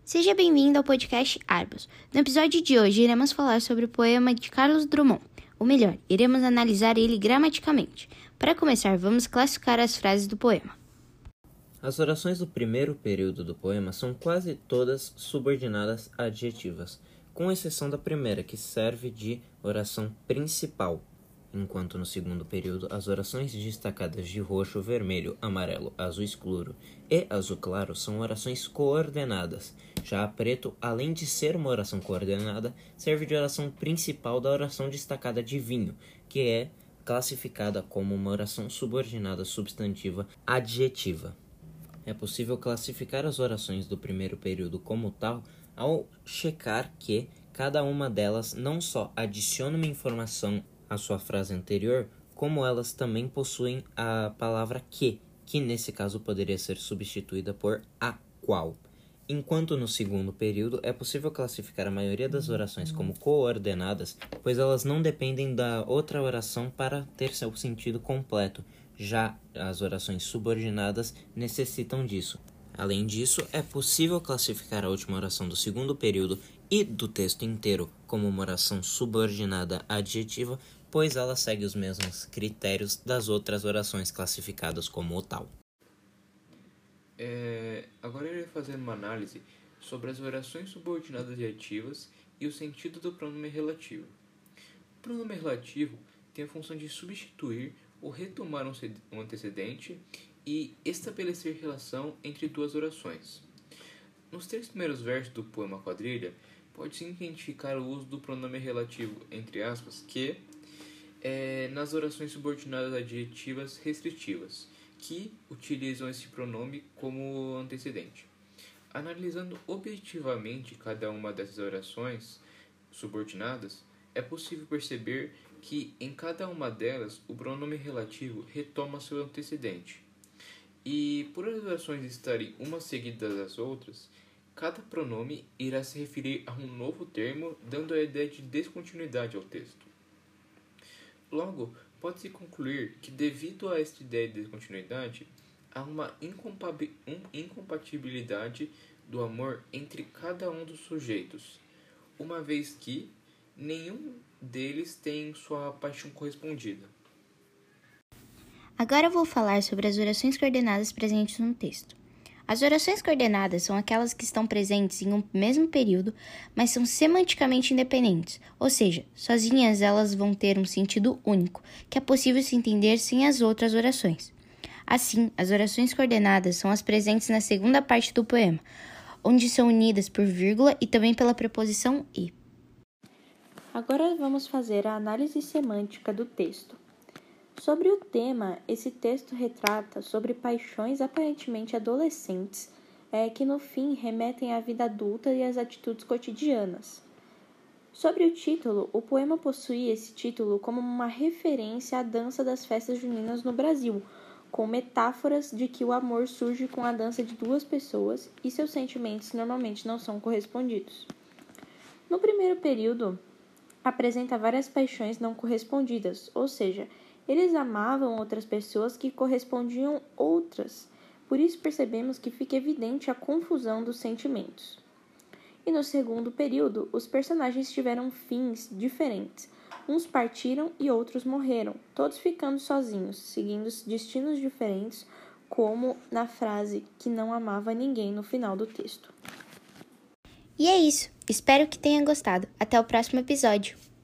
Seja bem-vindo ao podcast Arbos. No episódio de hoje, iremos falar sobre o poema de Carlos Drummond. Ou melhor, iremos analisar ele gramaticalmente. Para começar, vamos classificar as frases do poema. As orações do primeiro período do poema são quase todas subordinadas a adjetivas, com exceção da primeira, que serve de oração principal, enquanto no segundo período as orações destacadas de roxo, vermelho, amarelo, azul escuro e azul claro são orações coordenadas. Já a preto, além de ser uma oração coordenada, serve de oração principal da oração destacada de vinho, que é classificada como uma oração subordinada substantiva adjetiva. É possível classificar as orações do primeiro período como tal ao checar que cada uma delas não só adiciona uma informação à sua frase anterior, como elas também possuem a palavra que nesse caso poderia ser substituída por a qual. Enquanto no segundo período é possível classificar a maioria das orações como coordenadas, pois elas não dependem da outra oração para ter seu sentido completo. Já as orações subordinadas necessitam disso. Além disso, é possível classificar a última oração do segundo período e do texto inteiro como uma oração subordinada adjetiva, pois ela segue os mesmos critérios das outras orações classificadas como o tal. Agora eu irei fazer uma análise sobre as orações subordinadas adjetivas e o sentido do pronome relativo. O pronome relativo tem a função de substituir ou retomar um antecedente e estabelecer relação entre duas orações. Nos 3 primeiros versos do poema Quadrilha, pode-se identificar o uso do pronome relativo, entre aspas, que nas orações subordinadas adjetivas restritivas, que utilizam esse pronome como antecedente. Analisando objetivamente cada uma dessas orações subordinadas, é possível perceber que em cada uma delas o pronome relativo retoma seu antecedente. E por as orações estarem umas seguidas das outras, cada pronome irá se referir a um novo termo, dando a ideia de descontinuidade ao texto. Logo, pode-se concluir que devido a esta ideia de descontinuidade, há uma incompatibilidade do amor entre cada um dos sujeitos, uma vez que nenhum deles tem sua paixão correspondida. Agora eu vou falar sobre as orações coordenadas presentes no texto. As orações coordenadas são aquelas que estão presentes em um mesmo período, mas são semanticamente independentes, ou seja, sozinhas elas vão ter um sentido único, que é possível se entender sem as outras orações. Assim, as orações coordenadas são as presentes na segunda parte do poema, onde são unidas por vírgula e também pela preposição e. Agora vamos fazer a análise semântica do texto. Sobre o tema, esse texto retrata sobre paixões aparentemente adolescentes, que no fim remetem à vida adulta e às atitudes cotidianas. Sobre o título, o poema possui esse título como uma referência à dança das festas juninas no Brasil, com metáforas de que o amor surge com a dança de 2 pessoas e seus sentimentos normalmente não são correspondidos. No primeiro período, apresenta várias paixões não correspondidas, ou seja, eles amavam outras pessoas que correspondiam outras. Por isso percebemos que fica evidente a confusão dos sentimentos. E no segundo período, os personagens tiveram fins diferentes. Uns partiram e outros morreram, todos ficando sozinhos, seguindo destinos diferentes, como na frase que não amava ninguém no final do texto. E é isso. Espero que tenha gostado. Até o próximo episódio.